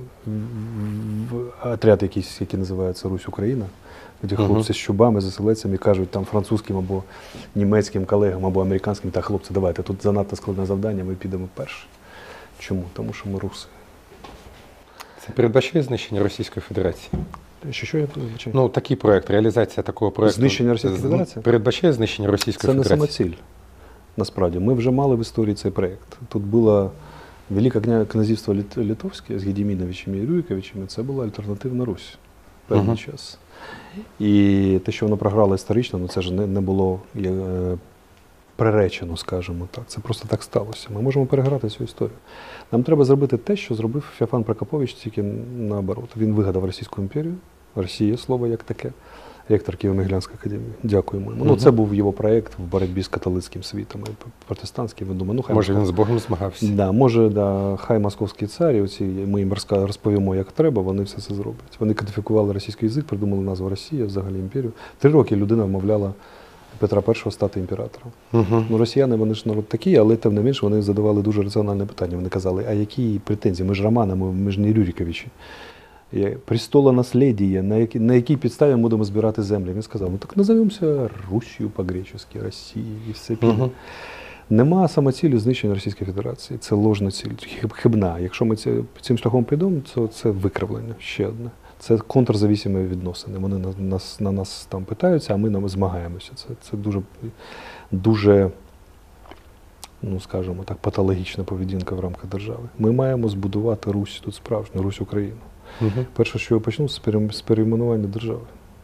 отряд якийсь, який називається Русь-Україна, де хлопці з чубами, з оселедцями кажуть там французьким або німецьким колегам, або американським, так, хлопці, давайте, тут занадто складне завдання, ми підемо перші. Чому? Тому що ми руси. Це передбачає знищення Російської Федерації? Що я передбачаю? Ну, такий проєкт, реалізація такого проєкту. Знищення Російської Федерації? Передбачає знищення Російської Федерації? Це не самоціль, насправді. Ми вже мали в історії цей проєкт. Тут було Велике князівство Литовське з Гедіміновичами і Рюриковичами, це була альтернативна Русь в певний час. І те, що воно програло історично, це ж не було приречено, скажімо так. Це просто так сталося. Ми можемо переграти цю історію. Нам треба зробити те, що зробив Феофан Прокопович, тільки наоборот. Він вигадав Російську імперію, Росія, слово як таке, ректор Києво-Могилянської академії. Дякуємо йому. Ну, це був його проєкт в боротьбі з католицьким світом і протестантським. Він думає, може він з Богом змагався? Да, може, хай московські царі, ми їм розповімо, як треба, вони все це зроблять. Вони кодифікували російський язик, придумали назву Росія, взагалі імперію. 3 роки людина вмовляла Петра І стати імператором. Ну, росіяни, вони ж народ такі, але тим не менш вони задавали дуже раціональне питання. Вони казали, а які претензії? Ми ж Романи, ми ж не Рюриковичі. Престолонаследие, на якій підставі ми будемо збирати землі. Він сказав, ну так назовемося Русію по-гречески, Росії і все піде. Нема самоцілі знищення Російської Федерації. Це ложна ціль, хибна. Якщо ми цим шляхом підемо, то це викривлення ще одне. Це контрзависимі відносини. Вони на нас там питаються, а ми нам змагаємося. Це дуже, ну скажімо так, патологічна поведінка в рамках держави. Ми маємо збудувати Русь тут справжню, Русь Україну. Перше, що я почну, з перейменування держави.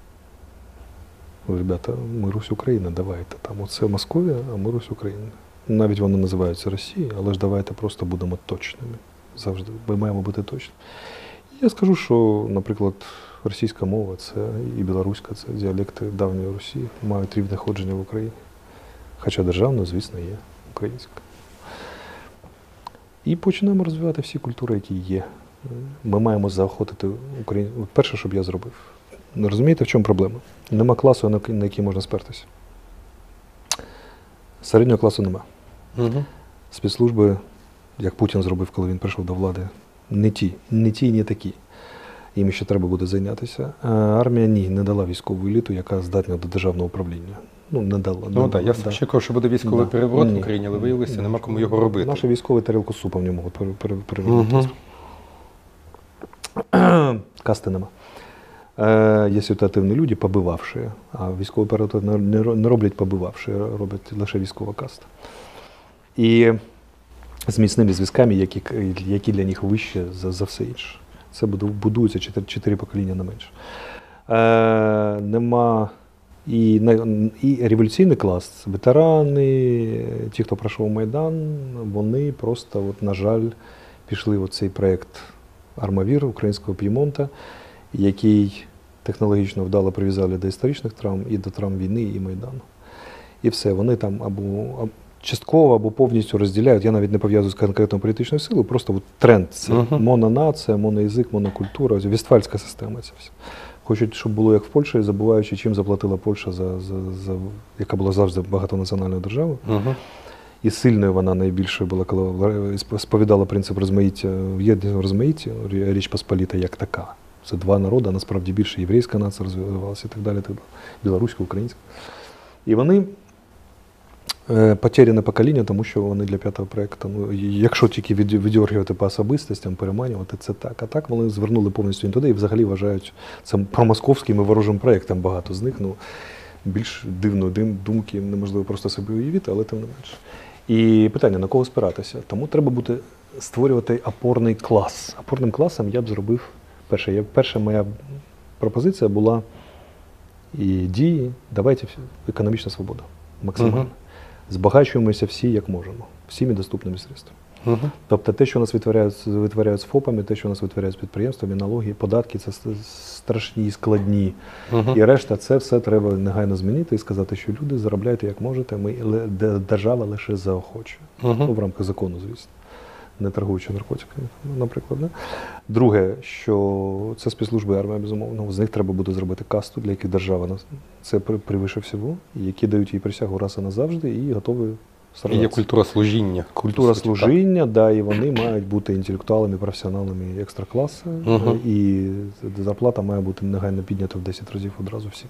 Ребята, ми Русь Україна, давайте. Там оце Московія, а ми Русь Україна. Навіть вони називаються Росією, але ж давайте просто будемо точними. Завжди. Ми маємо бути точними. Я скажу, що, наприклад, російська мова це і білоруська, це діалекти давньої Росії, мають рівне ходження в Україні. Хоча державно, звісно, є українська. І починаємо розвивати всі культури, які є. Ми маємо заохотити Україну. Перше, що б я зробив. Розумієте, в чому проблема? Нема класу, на який можна спертися. Середнього класу нема. Спецслужби, як Путін зробив, коли він прийшов до влади, не ті, не такі. Їм ще треба буде зайнятися. А армія не дала військову еліту, яка здатна до державного управління. Ну, не дала. Ну так, я все чекав, що буде військовий переворот в Україні, але виявилося, нема кому його робити. Наші військові тарілку з супом не можуть перевернути. Касти нема. Є ситуативні люди, побивавши, а військовий переворот не роблять побивавши, роблять лише військова каста. І з міцними зв'язками, які для них вище за все інше. Це будується 4 покоління не менше. Нема і революційний клас, ветерани, ті, хто пройшов Майдан, вони просто, на жаль, пішли в цей проєкт «Армавір» українського П'ємонта, який технологічно вдало прив'язали до історичних травм і до травм війни і Майдану. І все, вони там або частково, або повністю розділяють, я навіть не пов'язую з конкретною політичною силою, просто тренд. Це мононація, моноязик, монокультура, вестфальська система ця вся. Хочуть, щоб було як в Польщі, забуваючи, чим заплатила Польща, яка була завжди багатонаціональною державою. І сильною вона найбільшою була, коли сповідала принцип розмаїття, в єдному розмаїтті, Річ Посполіта як така. Це два народи, а насправді більше єврейська нація розвивалася і так далі, білоруська, українська. І вони потеряне покоління, тому що вони для 5-го проєкту, якщо тільки віддергувати по особистостям, переманювати, це так. А так вони звернули повністю туди і взагалі вважають це промосковським і ворожим проєктом. Багато з них, більш дивної думки неможливо просто собі уявити, але тим не менше. І питання, на кого спиратися? Тому треба буде створювати опорний клас. Опорним класом я б зробив, перша моя пропозиція була і дії, давайте економічна свобода, максимально. Збагачуємося всі, як можемо, всіми доступними средствами. Тобто те, що у нас витворяють з ФОПами, те, що у нас витворяють з підприємствами, налоги, податки, це страшні, складні. І решта, це все треба негайно змінити і сказати, що люди, заробляйте як можете, держава лише заохочує. В рамках закону, звісно. Не торгуючи наркотиками, наприклад. Да? Друге, що це спецслужби, армія, безумовно, з них треба буде зробити касту, для яких держава це превише всього, які дають їй присягу раз і назавжди і готові сражатися. І є культура служіння. Культура служіння, да, і вони мають бути інтелектуалами, професіоналами екстракласу, і зарплата має бути негайно піднята в 10 разів одразу всім.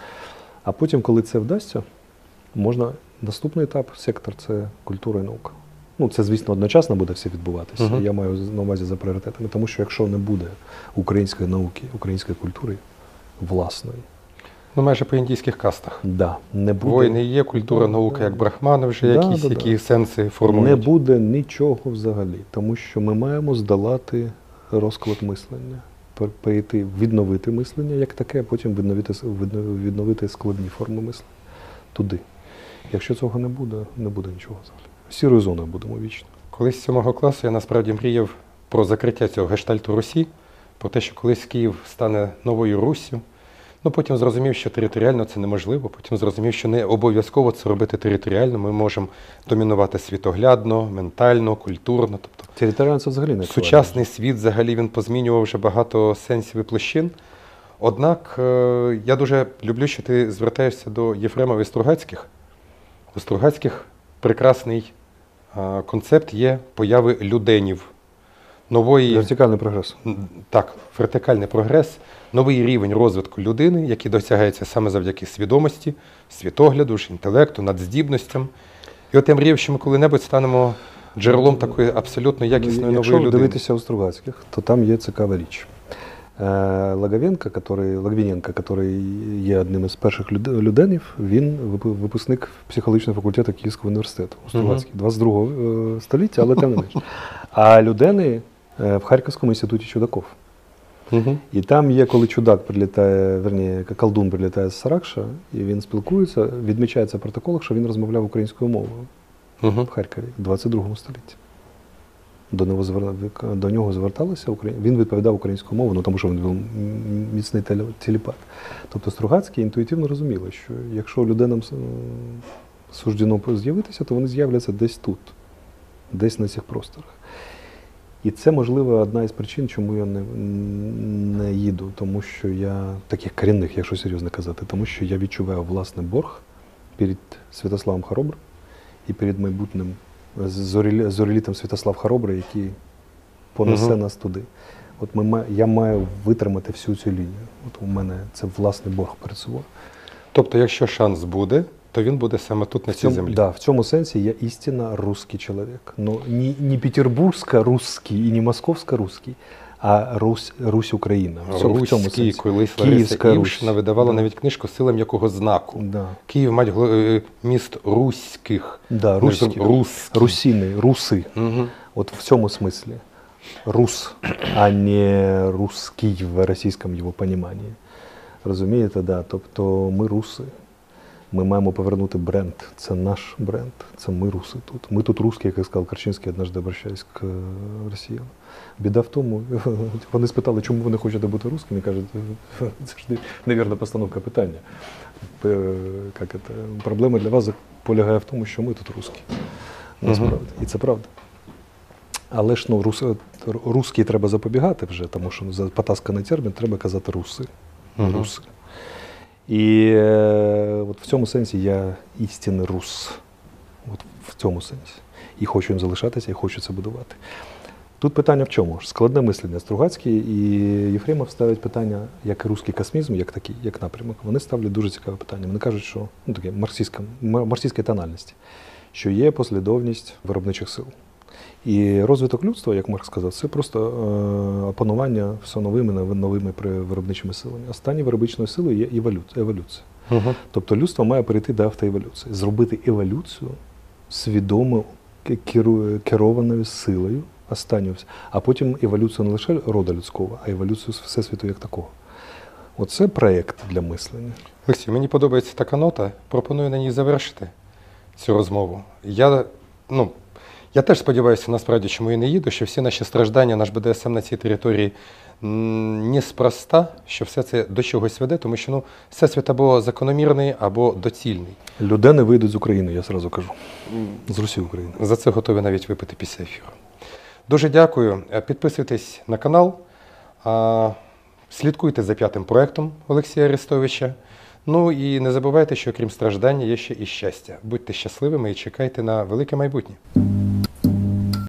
А потім, коли це вдасться, можна наступний етап, сектор, це культура і наука. Це, звісно, одночасно буде все відбуватися. Я маю на увазі за пріоритетами. Тому що якщо не буде української науки, української культури власної. Майже по індійських кастах. Да, не буде. Воїни є, культура, наука, як брахмани вже якісь, які сенси формують. Не буде нічого взагалі. Тому що ми маємо здолати розклад мислення. Перейти, відновити мислення як таке, а потім відновити складні форми мислення. Туди. Якщо цього не буде нічого взагалі. Сірою зоною будемо вічно. Колись з 7 класу я насправді мріяв про закриття цього гештальту Русі, про те, що колись Київ стане новою Руссю. Потім зрозумів, що територіально це неможливо, потім зрозумів, що не обов'язково це робити територіально. Ми можемо домінувати світоглядно, ментально, культурно. Тобто територіально це взагалі не сучасний світ взагалі він позмінював вже багато сенсів і площин. Однак я дуже люблю, що ти звертаєшся до Єфремова і Стругацьких. У Стругацьких прекрасний концепт є появи люденів. Вертикальний прогрес. Так, вертикальний прогрес, новий рівень розвитку людини, який досягається саме завдяки свідомості, світогляду, інтелекту, надздібностям. І от я мрію, що ми коли-небудь станемо джерелом такої абсолютно якісної нової Якщо людини. дивитися у Стругацьких, то там є цікава річ. Логвиненко, який є одним із перших люденів, він випускник психологічного факультету Київського університету у Стругацькій, 22 століття, але тим не менш. А людени в Харківському інституті чудаків. І там є, коли чудак прилітає, колдун прилітає з Саракша, і він спілкується, відмічається в протоколах, що він розмовляв українською мовою в Харкові в 22 столітті. До нього зверталися, він відповідав українською мовою, тому що він був міцний телепат. Тобто Стругацькі інтуїтивно розуміли, що якщо людинам суждено з'явитися, то вони з'являться десь тут, десь на цих просторах. І це, можливо, одна із причин, чому я не їду, тому що я, таких корінних, якщо серйозно казати, тому що я відчуваю власний борг перед Святославом Хоробрим і перед майбутнім зорелітом Святослав Хоробрий, який понесе нас туди. От я маю витримати всю цю лінію. От у мене це власний борг перед собою. Тобто, якщо шанс буде, то він буде саме тут, на цій землі. Да, в цьому сенсі я істинно русский чоловік. Ну, не петербургсько-русский і не московсько-русский, а Русь Україна. В цьому сенсі. Колись Лариса Івшина видавала навіть книжку «Сила м'якого знаку». Да. Київ, міст руських. Да, русини, руси. От в цьому смислі. Рус, а не русский в російському його поніманні. Розумієте, да. Тобто ми руси. Ми маємо повернути бренд. Це наш бренд. Це ми руси тут. Ми тут русські, як сказав Корчинський, однажды обращаясь к росіянам. Біда в тому, вони спитали, чому ви не хочете бути русскими, кажуть, це ж невірна постановка питання. Проблема для вас полягає в тому, що ми тут русські. Насправді. І це правда. Але ж русські треба запобігати вже, тому що за потасканий термін треба казати руси. Руси. І от в цьому сенсі я істинний рус. От в цьому сенсі. І хочу їм залишатися, і хочу це будувати. Тут питання в чому? Складне мислення. Стругацький і Єфремов ставлять питання, як і русський космізм, як такий, як напрямок. Вони ставлять дуже цікаве питання. Вони кажуть, що таке марксистської тональності, що є послідовність виробничих сил. І розвиток людства, як Маркс сказав, це просто опанування все новими виробничими силами. Останньою виробничою силою є еволюція. Тобто людство має перейти до автоеволюції, зробити еволюцію свідомо керованою силою, останньою, а потім еволюцію не лише роду людського, а еволюцію всесвіту як такого. Оце проєкт для мислення. Олексій, мені подобається така нота, пропоную на ній завершити цю розмову. Я теж сподіваюся, насправді, чому я не їду, що всі наші страждання, наш БДСМ на цій території неспроста, що все це до чогось веде, тому що всесвіт або закономірний, або доцільний. Людини вийдуть з України, я зразу кажу. З Росії України. За це готові навіть випити після ефіру. Дуже дякую. Підписуйтесь на канал, слідкуйте за 5-м проєктом Олексія Арестовича. Ну і не забувайте, що крім страждання є ще і щастя. Будьте щасливими і чекайте на велике майбутнє.